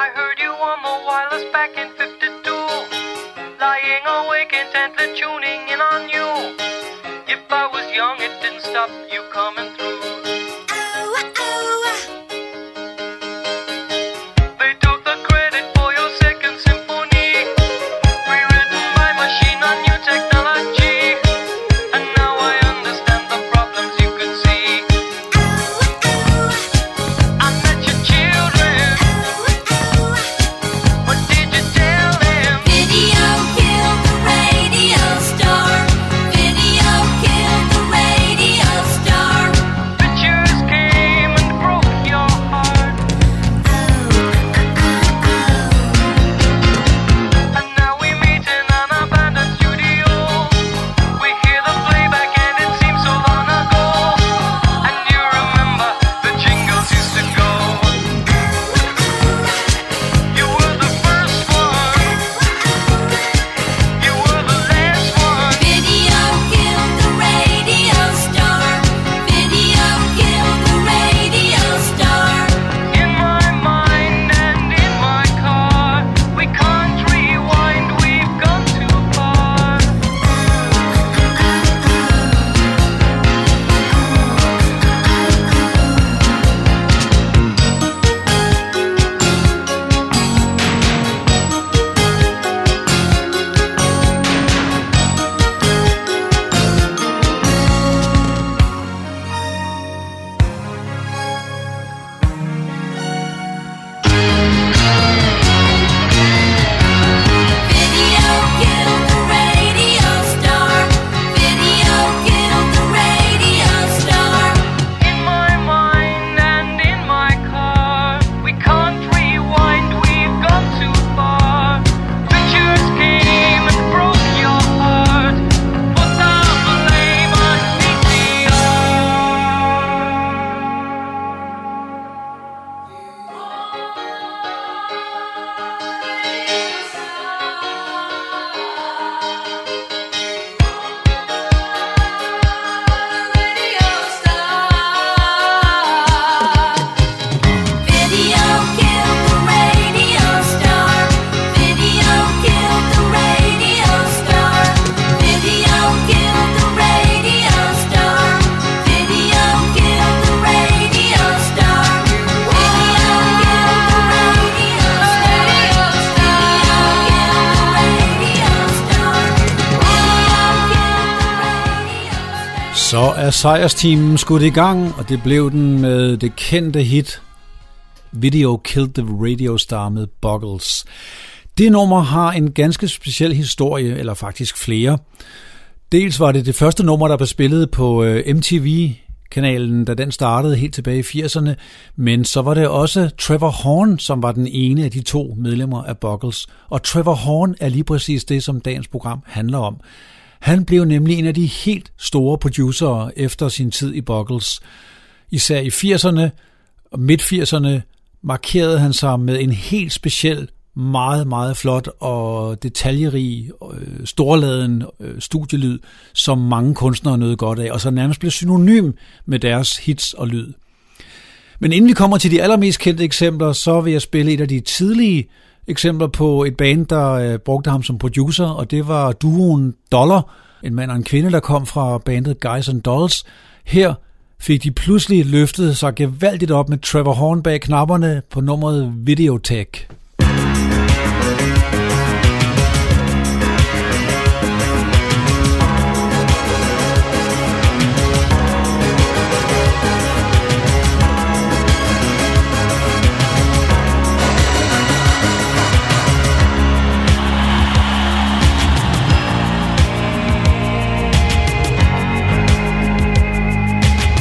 I heard you on the wireless back in 52. Lying awake intently tuning in on you. If I was young, it didn't stop you coming through. They took the credit for your second symphony, rewritten by machine on new technology. And now I understand the problems you could see. I met your children. What did you tell them? Video killed the radio star. Video killed the radio star. Pictures came and broke your heart. And now we meet in an abandoned studio. We hear the playback and it seems so long ago. And you remember the jingles used to go. You were the first one. You were the last one. Video killed the radio star. Video killed the radio star. In my mind and in my car, we can't rewind, we've gone too far. Video killed the radio star. Video killed the radio star. In my mind and in my car, we can't rewind, we've gone too far. Pictures came and broke your heart. Put the blame on Video killed the radio star. Video killed the radio star. Video killed the radio star. Video killed the radio star. Video killed the radio star. Så er sejrsteamen skudt i gang, og det blev den med det kendte hit Video Killed the Radio Star med Buggles. Det nummer har en ganske speciel historie, eller faktisk flere. Dels var det første nummer, der blev spillet på MTV-kanalen, da den startede helt tilbage i 80'erne, men så var det også Trevor Horn, som var den ene af de to medlemmer af Buggles. Og Trevor Horn er lige præcis det, som dagens program handler om. Han blev nemlig en af de helt store producerer efter sin tid i Buggles. Især i 80'erne og midt-80'erne markerede han sig med en helt speciel, meget, meget flot og detaljerig, storladen studielyd, som mange kunstnere nød godt af, og så nærmest blev synonym med deres hits og lyd. Men inden vi kommer til de allermest kendte eksempler, så vil jeg spille et af de tidlige eksempler på et band, der brugte ham som producer, og det var duoen Dollar, en mand og en kvinde, der kom fra bandet Guys and Dolls. Her fik de pludselig løftet sig gevaldigt op med Trevor Horn bag knapperne på nummeret Videotech.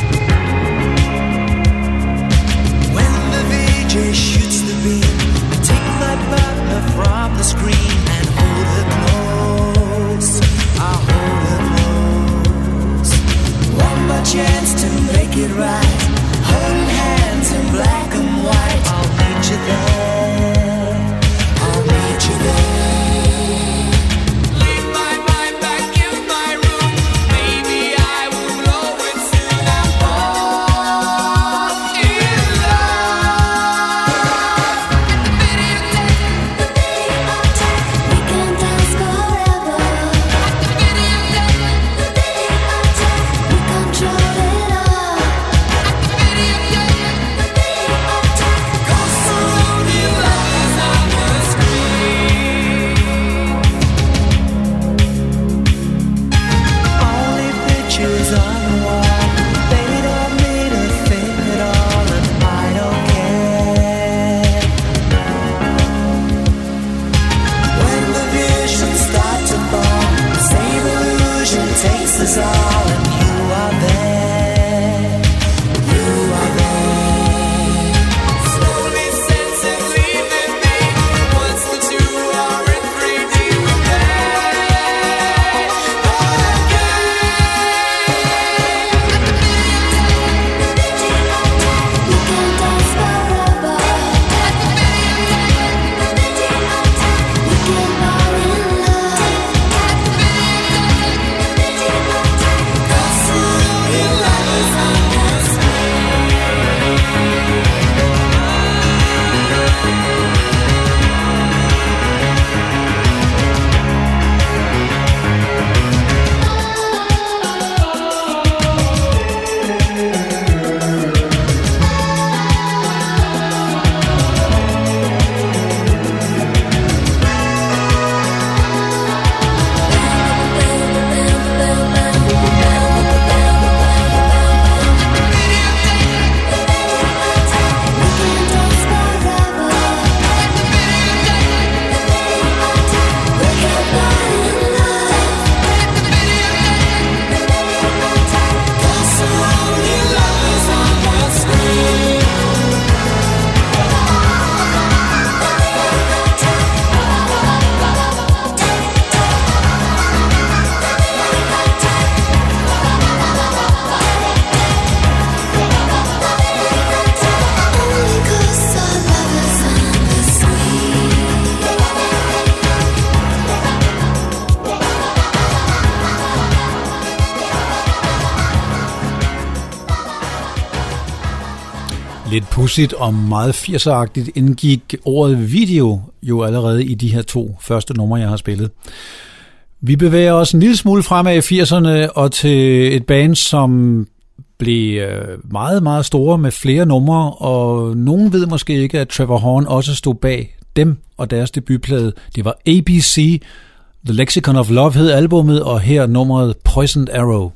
When the VJ shoots the beat, Lidt pudsigt og meget 80'er-agtigt indgik ordet video jo allerede i de her 2 første numre, jeg har spillet. Vi bevæger os en lille smule fremad i 80'erne og til et band, som blev meget, meget store med flere numre, og nogen ved måske ikke, at Trevor Horn også stod bag dem og deres debutplade. Det var ABC, The Lexicon of Love hed albummet, og her nummeret Poisoned Arrow.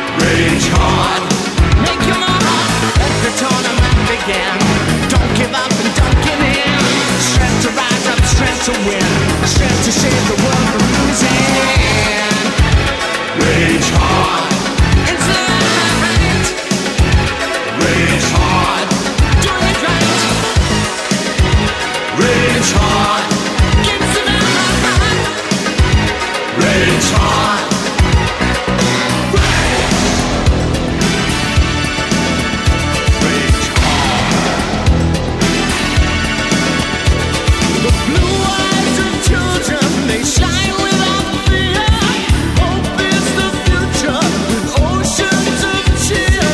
Make your heart, let the tournament begin. Don't give up. to win, strength to save the world from losing. Rage hard, it's right. Rage hard, doing it right. Rage hard, it's right. Rage hard. They shine without fear. Hope is the future with oceans of cheer.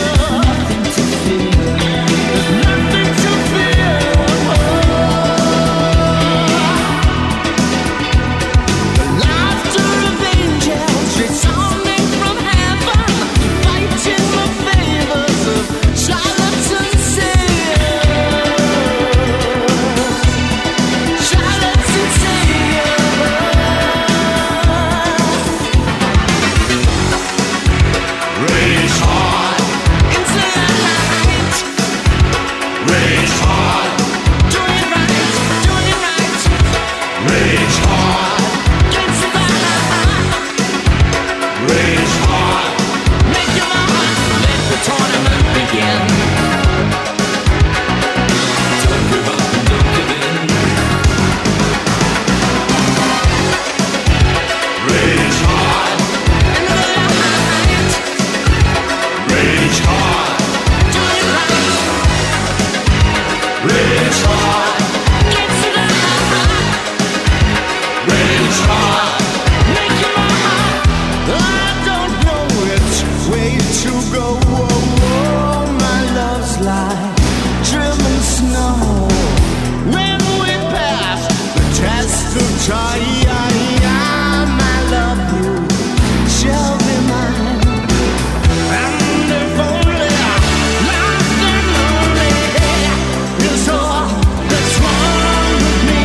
Nothing to fear. The laughter of angels resounding from heaven, fighting the favors of charlatans and saviors. Charlatans and saviors. Rage hard, it's right. Rage hard, doing it right, doing it right. Rage hard, it's right. Rage hard, make your mind, let the tournament begin. Don't give up and don't give in. Rage hard, and right. Rage hard, do it right. Rage hard, it's right. Rage hard, make your mind. I don't know which way to go. My love's like driven snow. When we pass the test of time, I love you, shall be mine. And if only life and only is all that's wrong with me,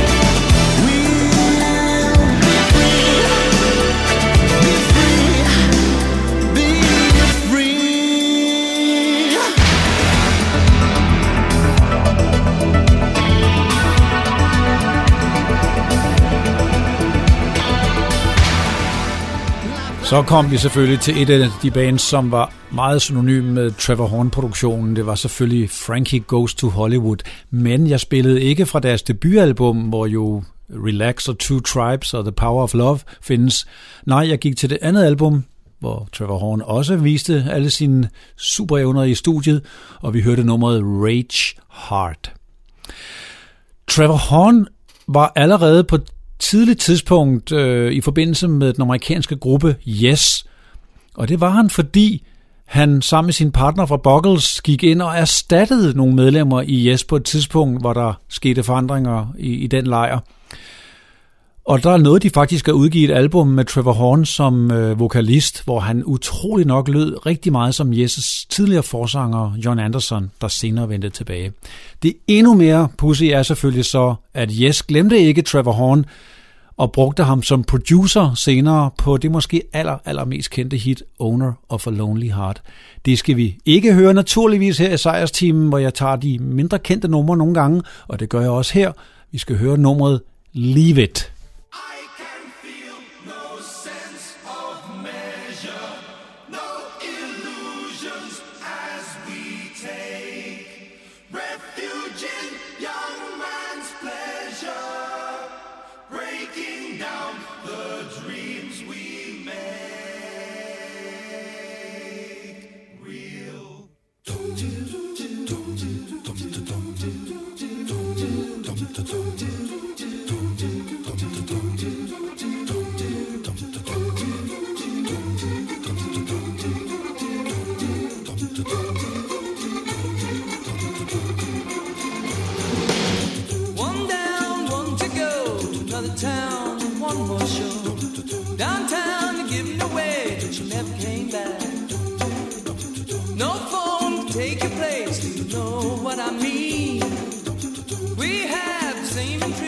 we'll be free, be free, be free. Så kom vi selvfølgelig til et af de bands, som var meget synonym med Trevor Horn-produktionen. Det var selvfølgelig Frankie Goes to Hollywood. Men jeg spillede ikke fra deres debutalbum, hvor jo Relax og Two Tribes og The Power of Love findes. Nej, jeg gik til det andet album, hvor Trevor Horn også viste alle sine superevner i studiet, og vi hørte nummeret Rage Hard. Trevor Horn var allerede på tidligt tidspunkt i forbindelse med den amerikanske gruppe Yes. Og det var han, fordi han sammen med sin partner fra Buggles gik ind og erstattede nogle medlemmer i Yes på et tidspunkt, hvor der skete forandringer i den lejr. Og der nåede de faktisk at udgive et album med Trevor Horn som vokalist, hvor han utrolig nok lød rigtig meget som Yes' tidligere forsanger John Anderson, der senere vendte tilbage. Det endnu mere pudsige er selvfølgelig så, at Yes glemte ikke Trevor Horn og brugte ham som producer senere på det måske allermest kendte hit Owner of a Lonely Heart. Det skal vi ikke høre naturligvis her i Sejrsteamen, hvor jeg tager de mindre kendte numre nogle gange, og det gør jeg også her. Vi skal høre nummeret Leave It. Take your place, you know what I mean. We have the same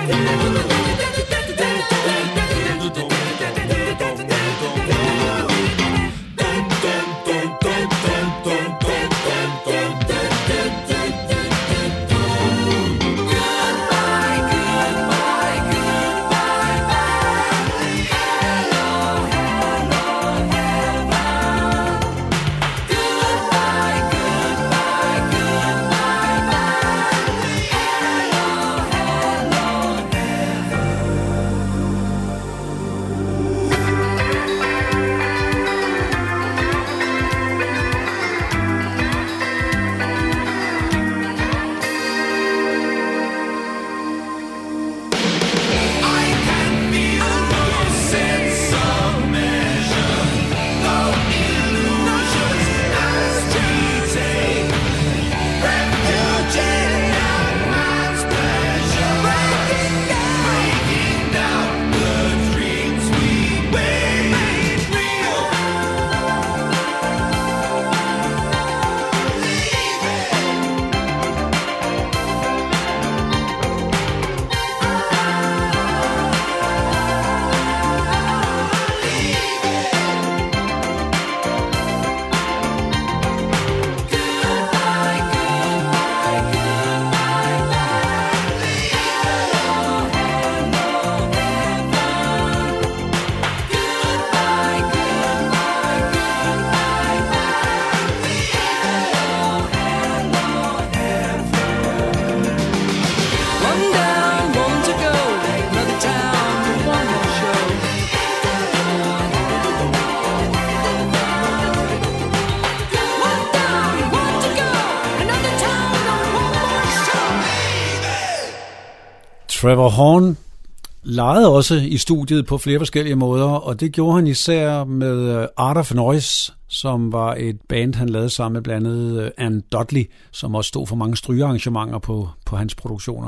Trevor Horn legede også i studiet på flere forskellige måder, og det gjorde han især med Art of Noise, som var et band, han lavede sammen med blandt andet Ann Dudley, som også stod for mange strygearrangementer på hans produktioner.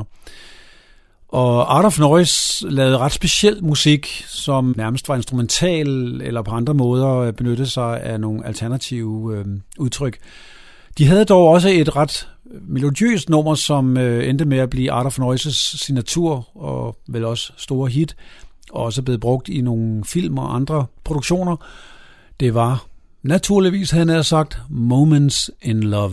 Og Art of Noise lavede ret speciel musik, som nærmest var instrumental eller på andre måder benyttede sig af nogle alternative udtryk. De havde dog også et ret melodiøst nummer, som endte med at blive Art of Noises signatur og vel også store hit, og også blevet brugt i nogle film og andre produktioner. Det var naturligvis, han havde sagt, Moments in Love.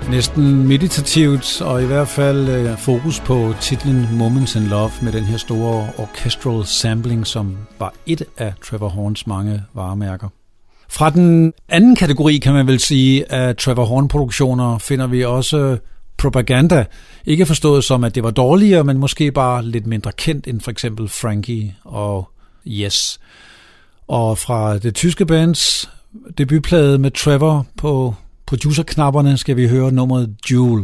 Næsten meditativt, og i hvert fald fokus på titlen Moments in Love med den her store orchestral sampling, som var et af Trevor Horns mange varemærker. Fra den anden kategori, kan man vel sige, af Trevor Horn-produktioner finder vi også propaganda. Ikke forstået som, at det var dårligere, men måske bare lidt mindre kendt end for eksempel Frankie og Yes. Og fra det tyske bands debutplade med Trevor på producerknapperne skal vi høre nummeret Jewel.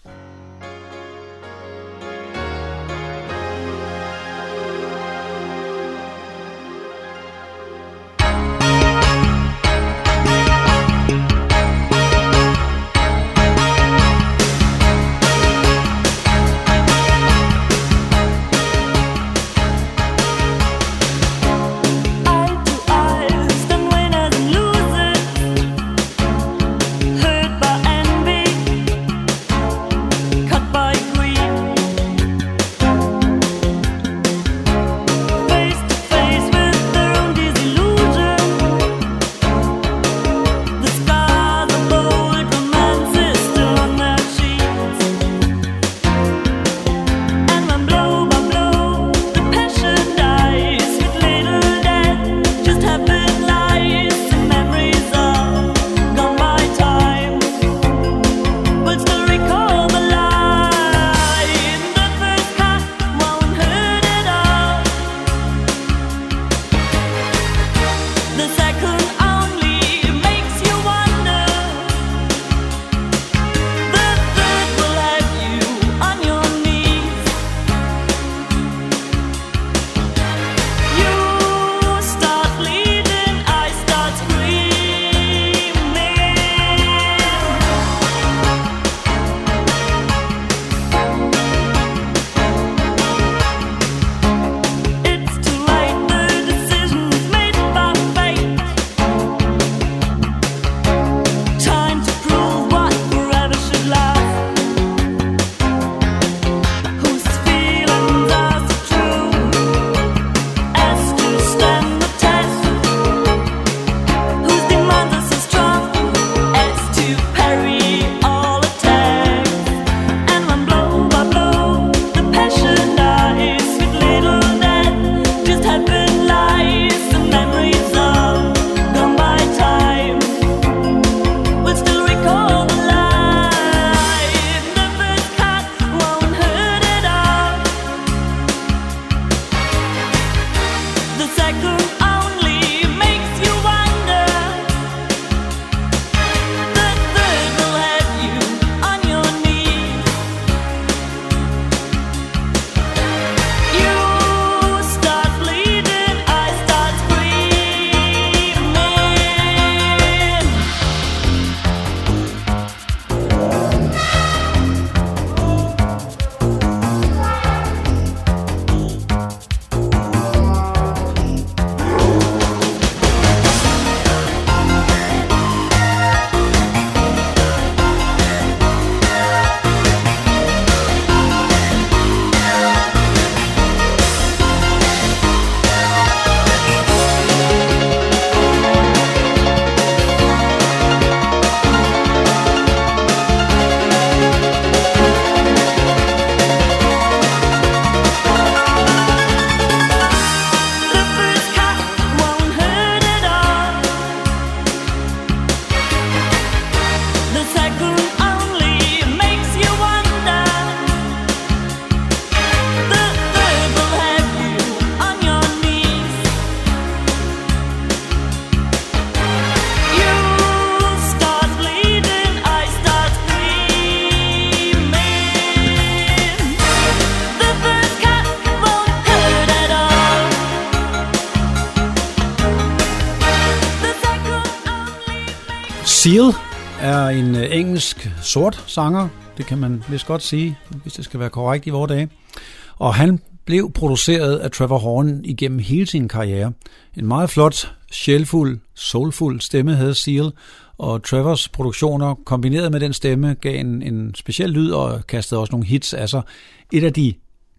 Seal er en engelsk sort sanger, det kan man vist godt sige, hvis det skal være korrekt i vores dage. Og han blev produceret af Trevor Horn igennem hele sin karriere. En meget flot, sjælfuld, soulfuld stemme havde Seal, og Trevors produktioner kombineret med den stemme gav en speciel lyd og kastede også nogle hits af sig. Et af de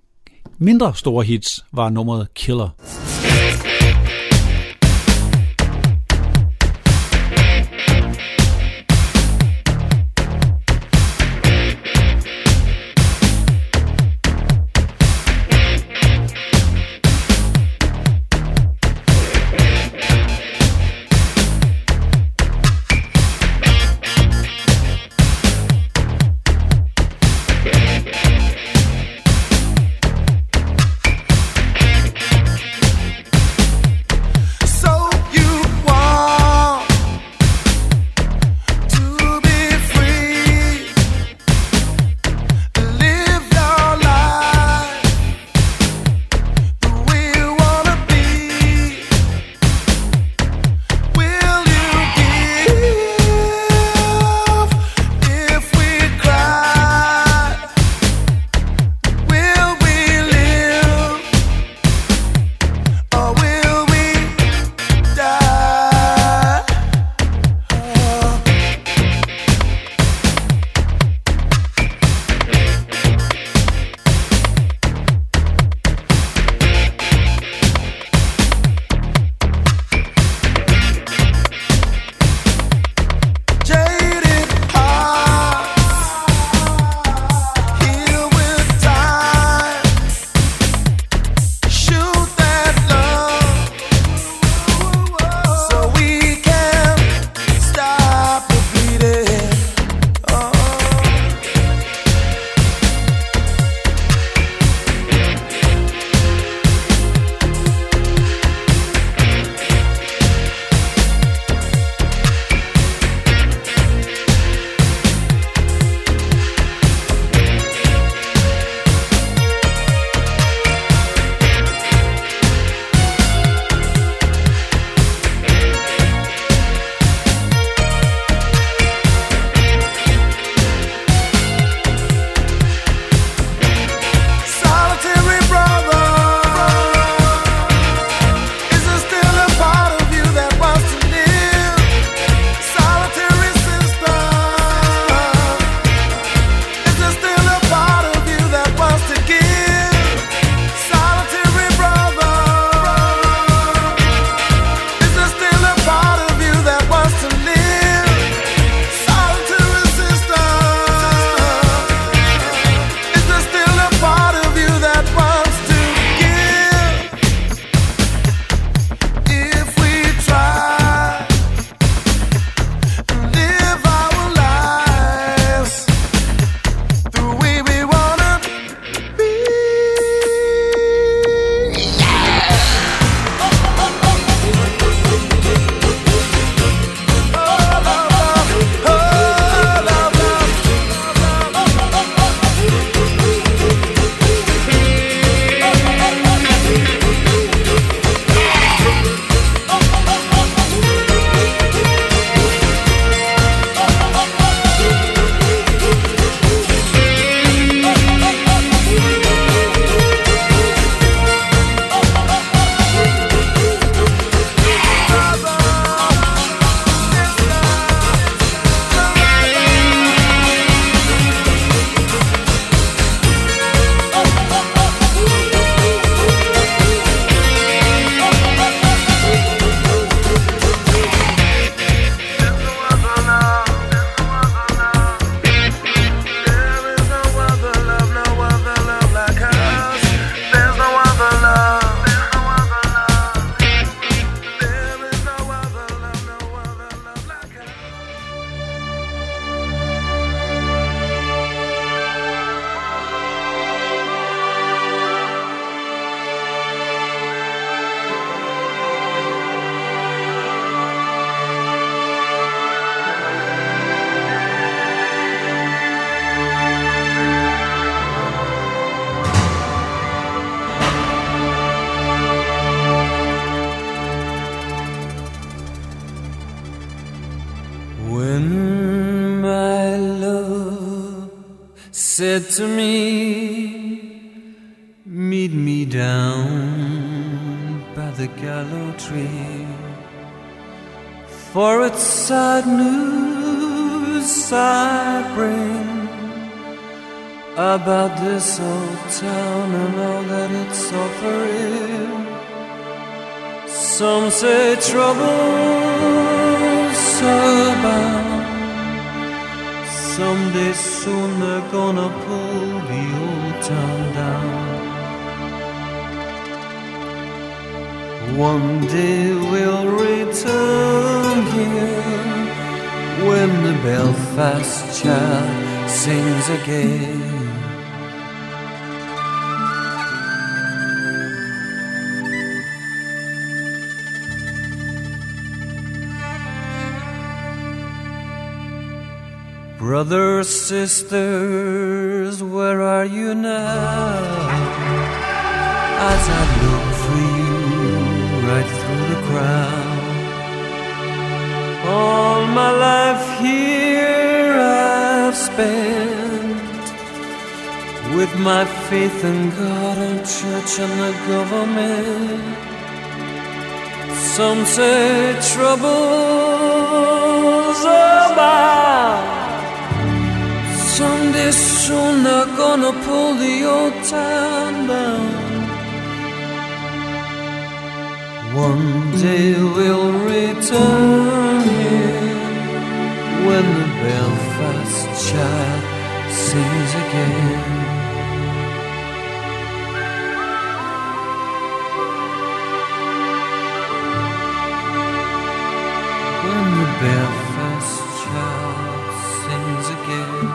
mindre store hits var nummeret Killer. said to me, meet me down by the gallows tree, for it's sad news I bring about this old town and all that it's offering. Some say trouble's abound. Someday soon they're gonna pull the old town down. One day we'll return here when the Belfast child sings again. Brothers, sisters, where are you now? As I look for you right through the crowd. All my life here I've spent with my faith in God and church and the government. Some say troubles abound. Someday soon they're gonna pull the old town down. One day we'll return here when the Belfast child sings again. When the Belfast child sings again.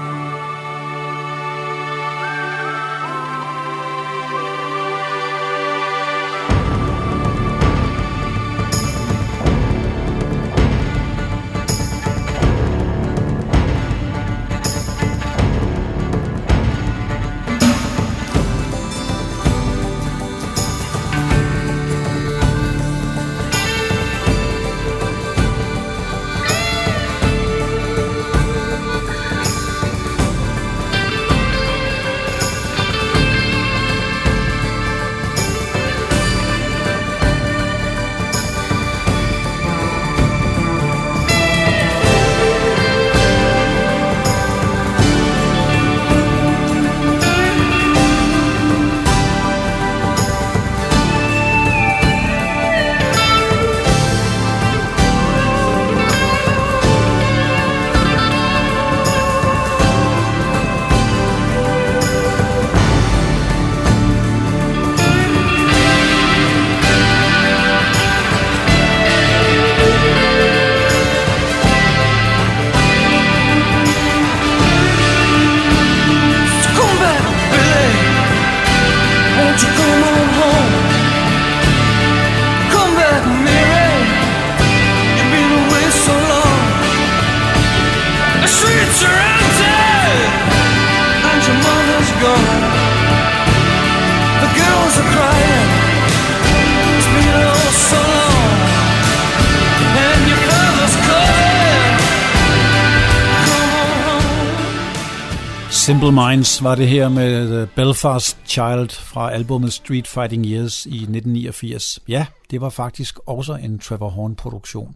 Simple Minds var det her med Belfast Child fra albumet Street Fighting Years i 1989. Ja, det var faktisk også en Trevor Horn-produktion.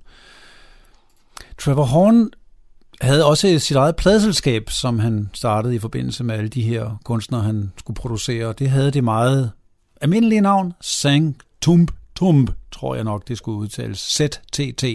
Trevor Horn havde også sit eget pladeselskab, som han startede i forbindelse med alle de her kunstnere, han skulle producere. Det havde det meget almindelige navn, Sang Tumb Tumb, tror jeg nok, det skulle udtales, ZTT.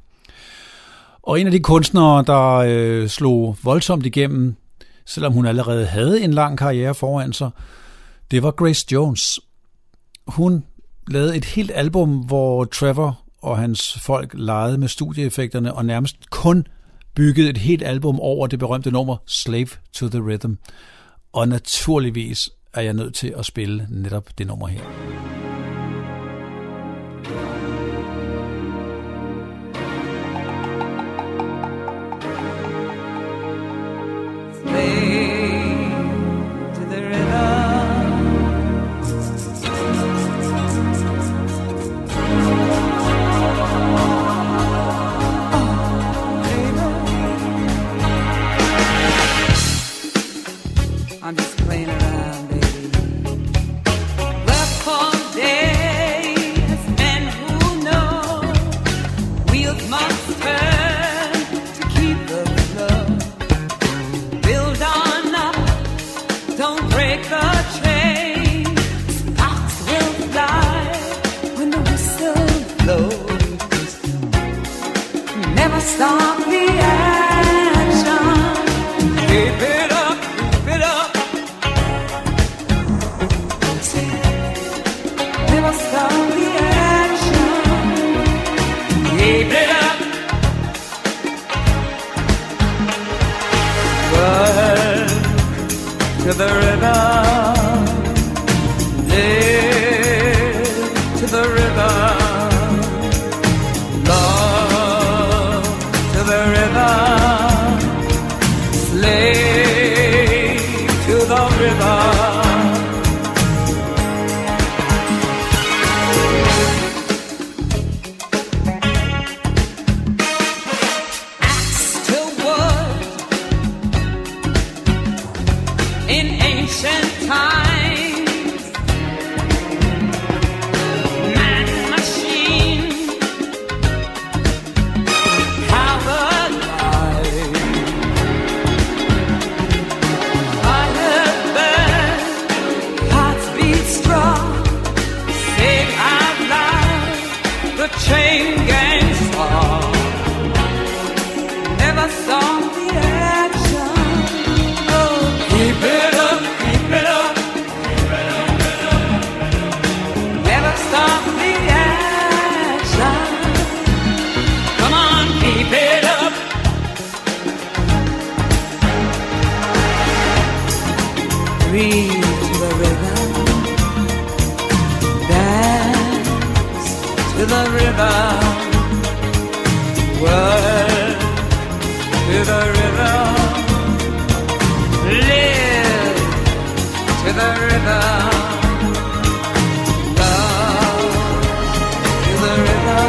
Og en af de kunstnere, der slog voldsomt igennem, selvom hun allerede havde en lang karriere foran sig, det var Grace Jones. Hun lavede et helt album, hvor Trevor og hans folk legede med studieeffekterne og nærmest kun byggede et helt album over det berømte nummer Slave to the Rhythm. Og naturligvis er jeg nødt til at spille netop det nummer her. I'm just playing around, baby. Work for days, and who knows? Wheels must turn to keep the flow. Build on up, don't break the chain. Sparks will fly when the whistle blows. Never stop the action. Keep it up, keep it up. Never stop the action. Keep it up. Work to the river. Live to the river. Love to the river. Slave to the river. Axe to wood in ancient times. Man, machine, powered life. Fire burn, hearts beat strong. Sing out loud, the chain gang song. Never stop the action. Oh, keep it up, keep it up. Never stop the action. Come on, keep it up. Breathe to the river. Dance to the river. Work to the river. Live to the river. Love to the river.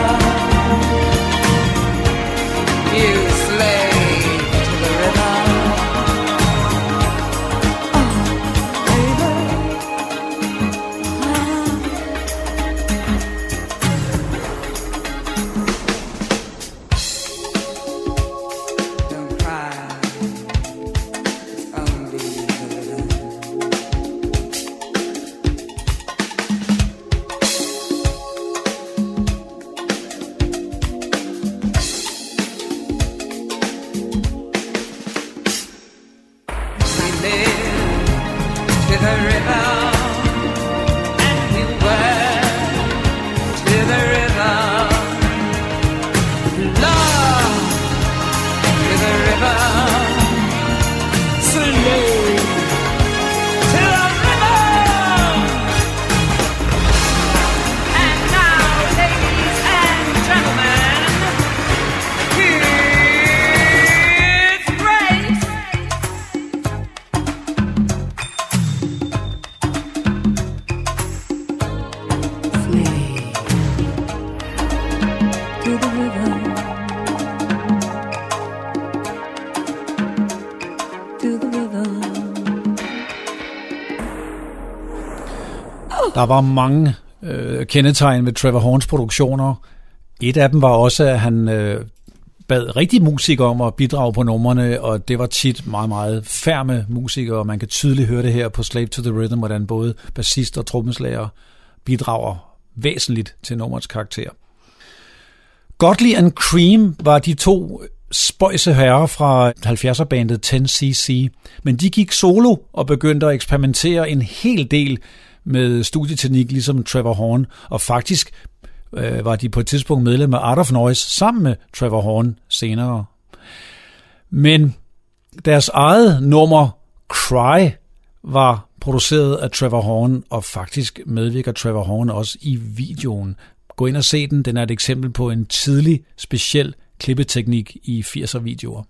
You slave to the river. Oh, baby. Don't cry. Only the river. We live to the river, and we work to the river. Love to the river, slave to the river. And now, ladies and gentlemen, here's Grace. Slave to the river, to the river. Der var mange kendetegn ved Trevor Horns produktioner. Et af dem var også, at han bad rigtige musikere om at bidrage på numrene, og det var tit meget, meget færme musikere, og man kan tydeligt høre det her på Slave to the Rhythm, hvordan både bassist og trommeslager bidrager væsentligt til nummerets karakter. Godley and Cream var de to spøjse herrer fra 70'er-bandet 10cc, men de gik solo og begyndte at eksperimentere en hel del med studieteknik, ligesom Trevor Horn, og faktisk var de på et tidspunkt medlem af Art of Noise sammen med Trevor Horn senere. Men deres eget nummer, Cry, var produceret af Trevor Horn, og faktisk medvirker Trevor Horn også i videoen. Gå ind og se den, den er et eksempel på en tidlig, speciel klippeteknik i 80'er videoer.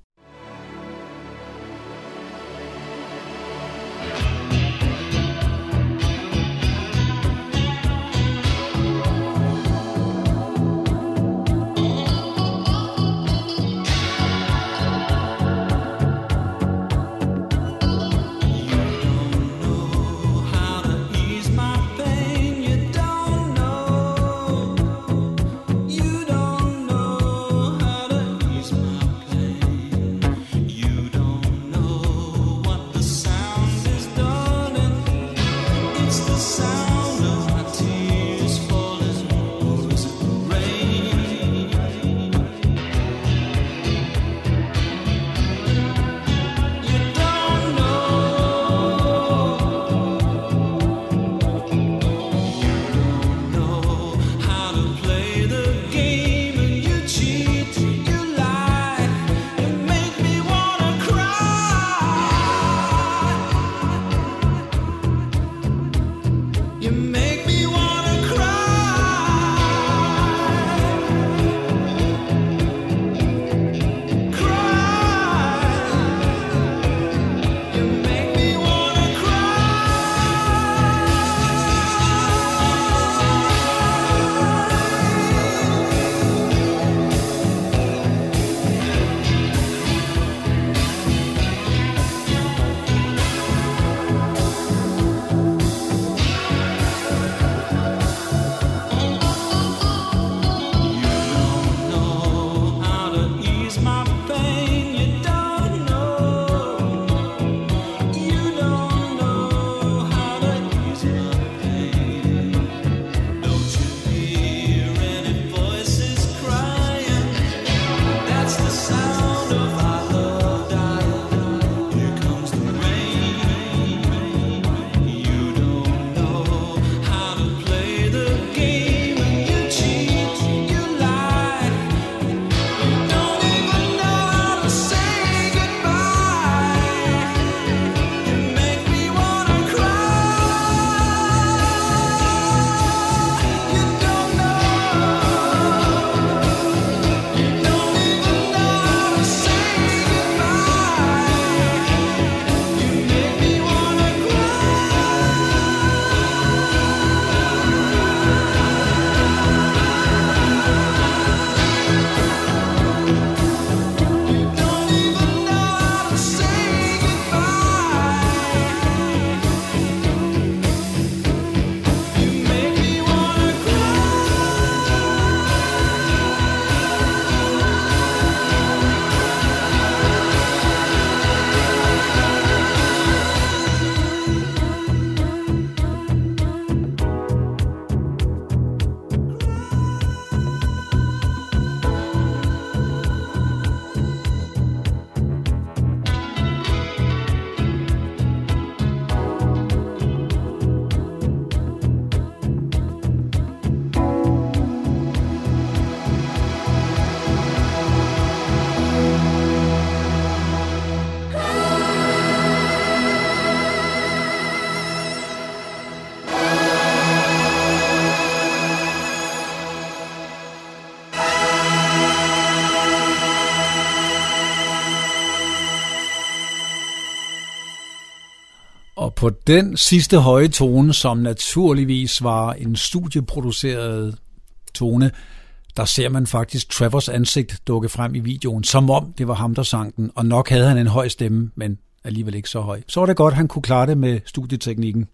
Og på den sidste høje tone, som naturligvis var en studieproduceret tone, der ser man faktisk Trevors ansigt dukke frem i videoen, som om det var ham, der sang den. Og nok havde han en høj stemme, men alligevel ikke så høj. Så var det godt, han kunne klare det med studieteknikken.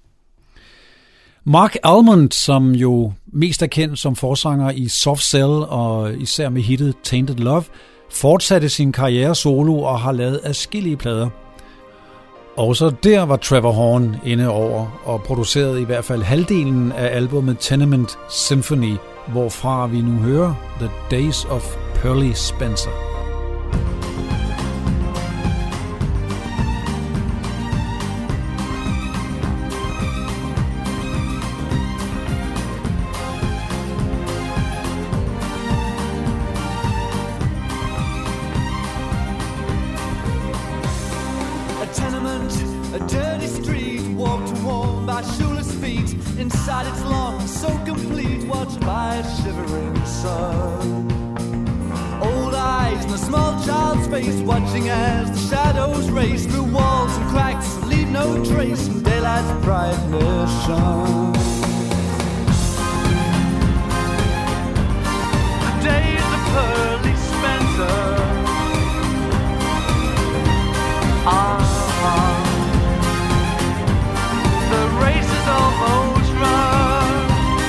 Mark Almond, som jo mest er kendt som forsanger i Soft Cell og især med hittet Tainted Love, fortsatte sin karriere solo og har lavet adskillige plader. Og så der var Trevor Horn inde over og producerede i hvert fald halvdelen af albumet Tenement Symphony, hvorfra vi nu hører The Days of Pearly Spencer. A dirty street, wall to wall by shoeless feet. Inside it's long, so complete, watched by a shivering sun. Old eyes in a small child's face, watching as the shadows race through walls and cracks, leave no trace from daylight's brightness shone. The days of Pearly Spencer are the race is almost run.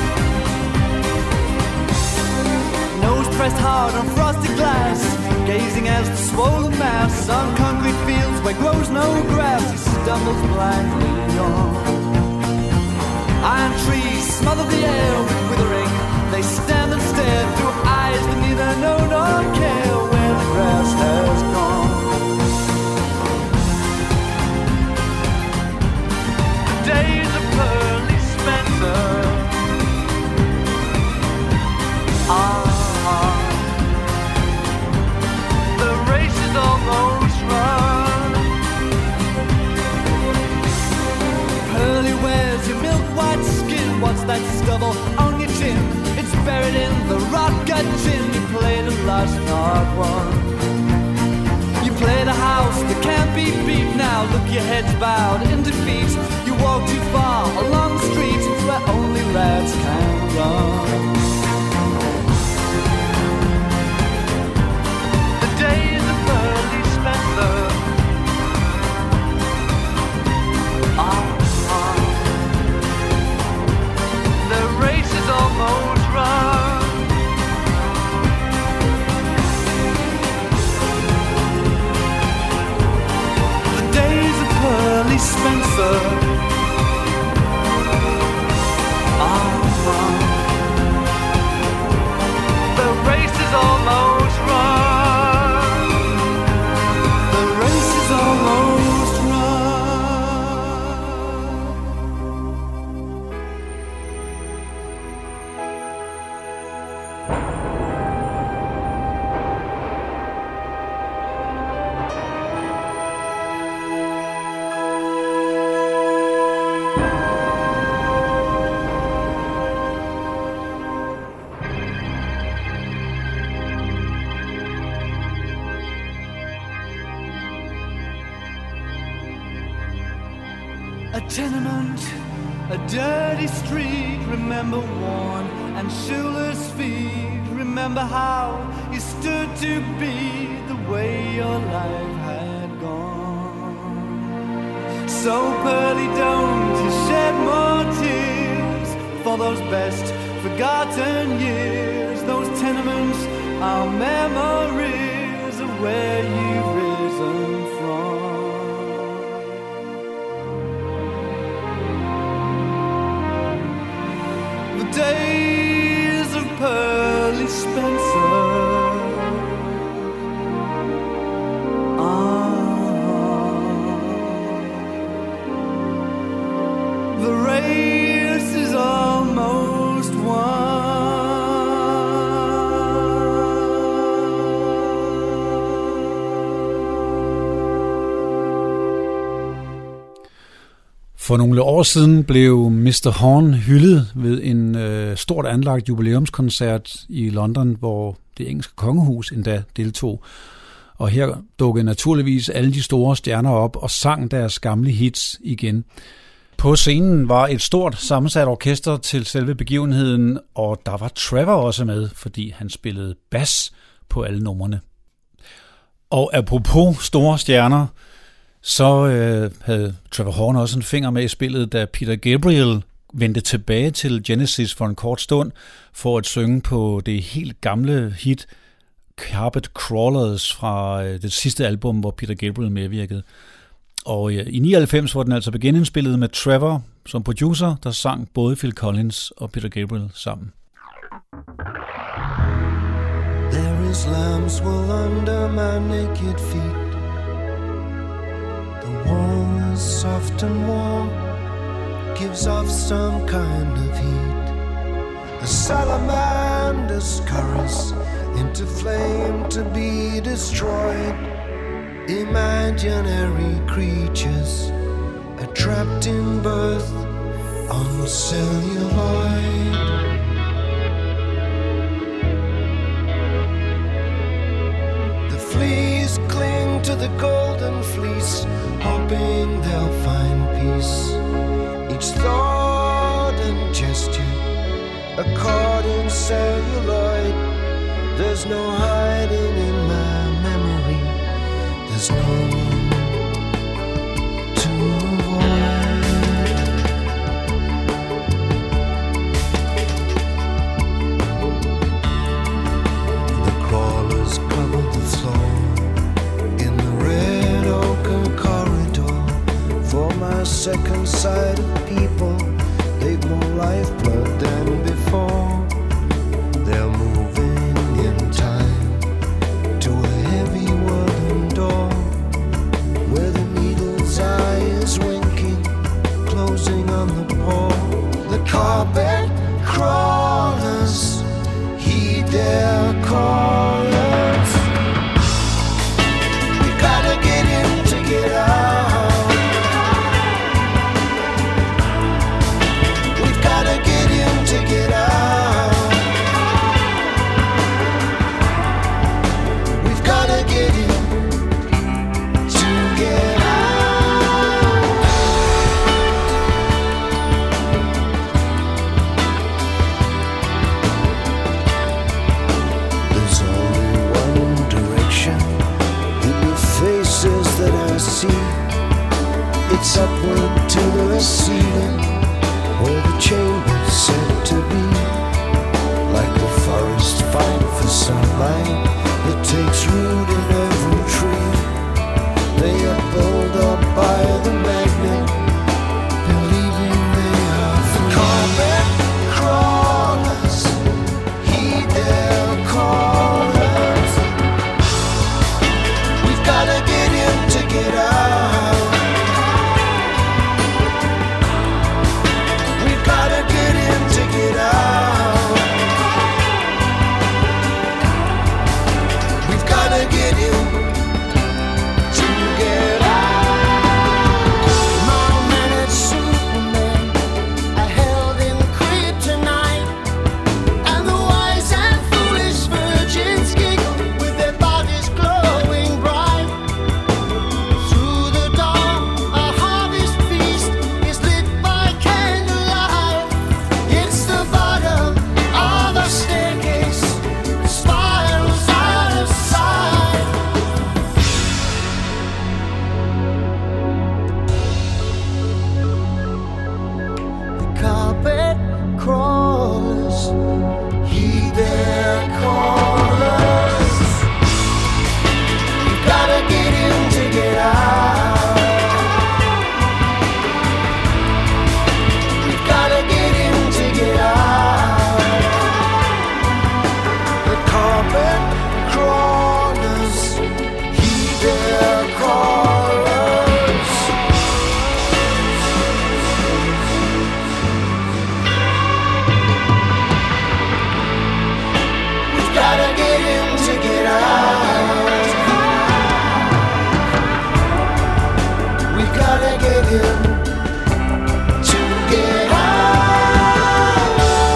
Nose pressed hard on frosted glass, gazing as the swollen mass on concrete fields where grows no grass, he stumbles blindly on. Iron trees smother the air with withering, they stand and stare through eyes that neither know nor care where the grass has gone. Days of Pearly Spencer the race is almost run. Pearly wears your milk white skin. What's that stubble on your chin? It's buried in the rot gut gin. You played a lost not won. You played a house that can't be beat. Now look, your head's bowed in defeat. You walk too far along the street where only rats can run. The days of Pearly Spencer the race is almost run. The days of Pearly Spencer the race is almost run. The race is almost run. A tenement, a dirty street, remember worn and shoeless feet. Remember how you stood to be the way your life had gone. So Pearly, don't you shed more tears for those best forgotten years. Those tenements are memories of where you've risen from. Days of Pearly Spencer the race is almost won. For nogle år siden blev Mr. Horn hyldet ved en stort anlagt jubilæumskoncert i London, hvor det engelske kongehus endda deltog. Og her dukkede naturligvis alle de store stjerner op og sang deres gamle hits igen. På scenen var et stort sammensat orkester til selve begivenheden, og der var Trevor også med, fordi han spillede bas på alle numrene. Og apropos store stjerner, så havde Trevor Horn også en finger med i spillet, da Peter Gabriel vendte tilbage til Genesis for en kort stund for at synge på det helt gamle hit Carpet Crawlers fra det sidste album, hvor Peter Gabriel medvirkede. Og i 99 var den altså genindspillet med Trevor som producer, der sang både Phil Collins og Peter Gabriel sammen. There is lamb's wool under my naked feet. The wool is soft and warm, gives off some kind of heat. A salamander's chorus into flame to be destroyed. Imaginary creatures are trapped in birth on celluloid. The fleas cling to the golden fleece, hoping they'll find peace. Each thought and gesture a caught in celluloid. There's no hiding in my memory. There's no room to avoid. The crawlers cover the floor in the red ochre corridor. For my second sight of people, they've more lifeblood than before. They're moving in time to a heavy wooden door where the needle's eye is winking, closing on the pore. The carpet crawlers heed their callers. We gotta get in to get out. We've gotta get in to get out. We've gotta get in to get out. There's only one direction in the faces that I see. It's upward to the ceiling where the chamber's said to be. Like the forest fight for sunlight that takes root in every tree. They are pulled up by the magnet, believing they are free. The carpet crawlers heed their callers. We've gotta get in to get out. We've gotta get in to get out. We've gotta get in to get out. My man is Superman, I held in kryptonite, and the wise and foolish virgins giggle with their bodies glowing bright. Through the dawn, a harvest feast is lit by candlelight. It's the bottom of a staircase that spirals out of sight. The carpet crawlers heed their callers. You gotta get in to get out. You gotta get in to get out. The carpet crawlers heed their callers. We've gotta get in to get out. We've gotta get in to get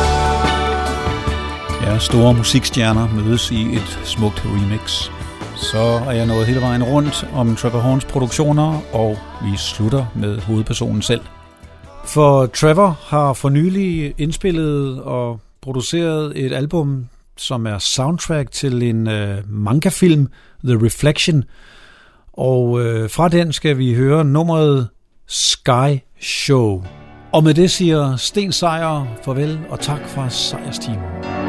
out. Ja, store musikstjerner mødes i et smukt remix. Så er jeg nået hele vejen rundt om Trevor Horns produktioner, og vi slutter med hovedpersonen selv. For Trevor har for nylig indspillet og produceret et album, som er soundtrack til en manga-film, The Reflection. Og fra den skal vi høre nummeret Sky Show. Og med det siger Sten Sejer farvel og tak fra Sejers Team.